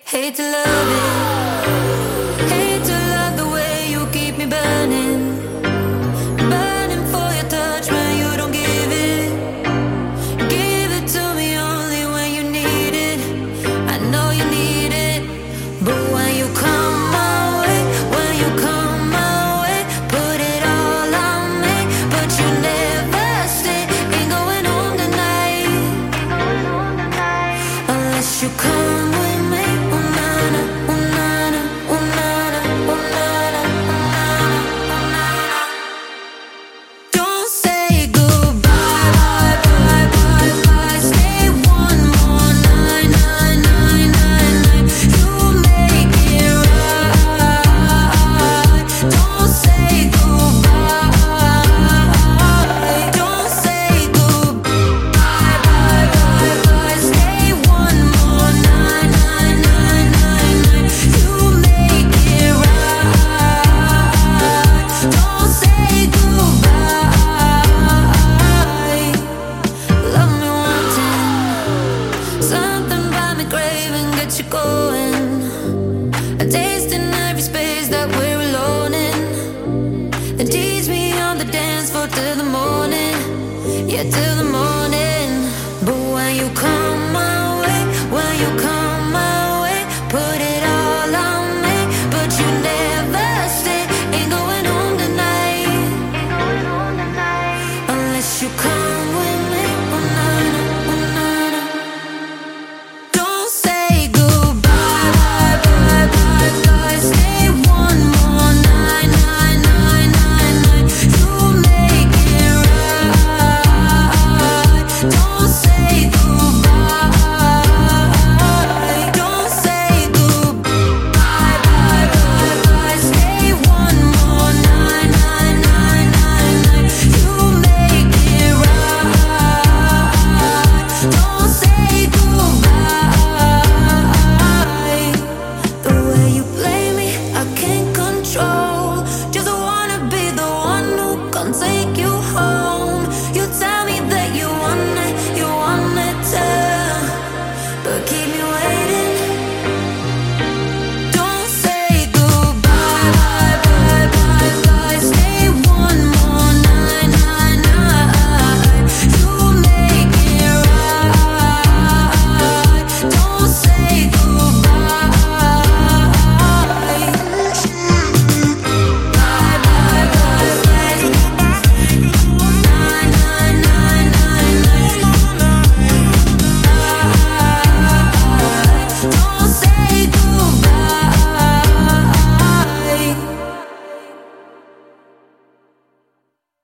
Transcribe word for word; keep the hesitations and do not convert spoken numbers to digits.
Hate to love it, hate to love the way you keep me burning, burning for your touch when you don't give it, give it to me only when you need it. I know you need it, but when you come my way, when you come my way, put it all on me, but you never stay. Ain't going home tonight, unless you come with me. Till the morning, yeah, till the morning.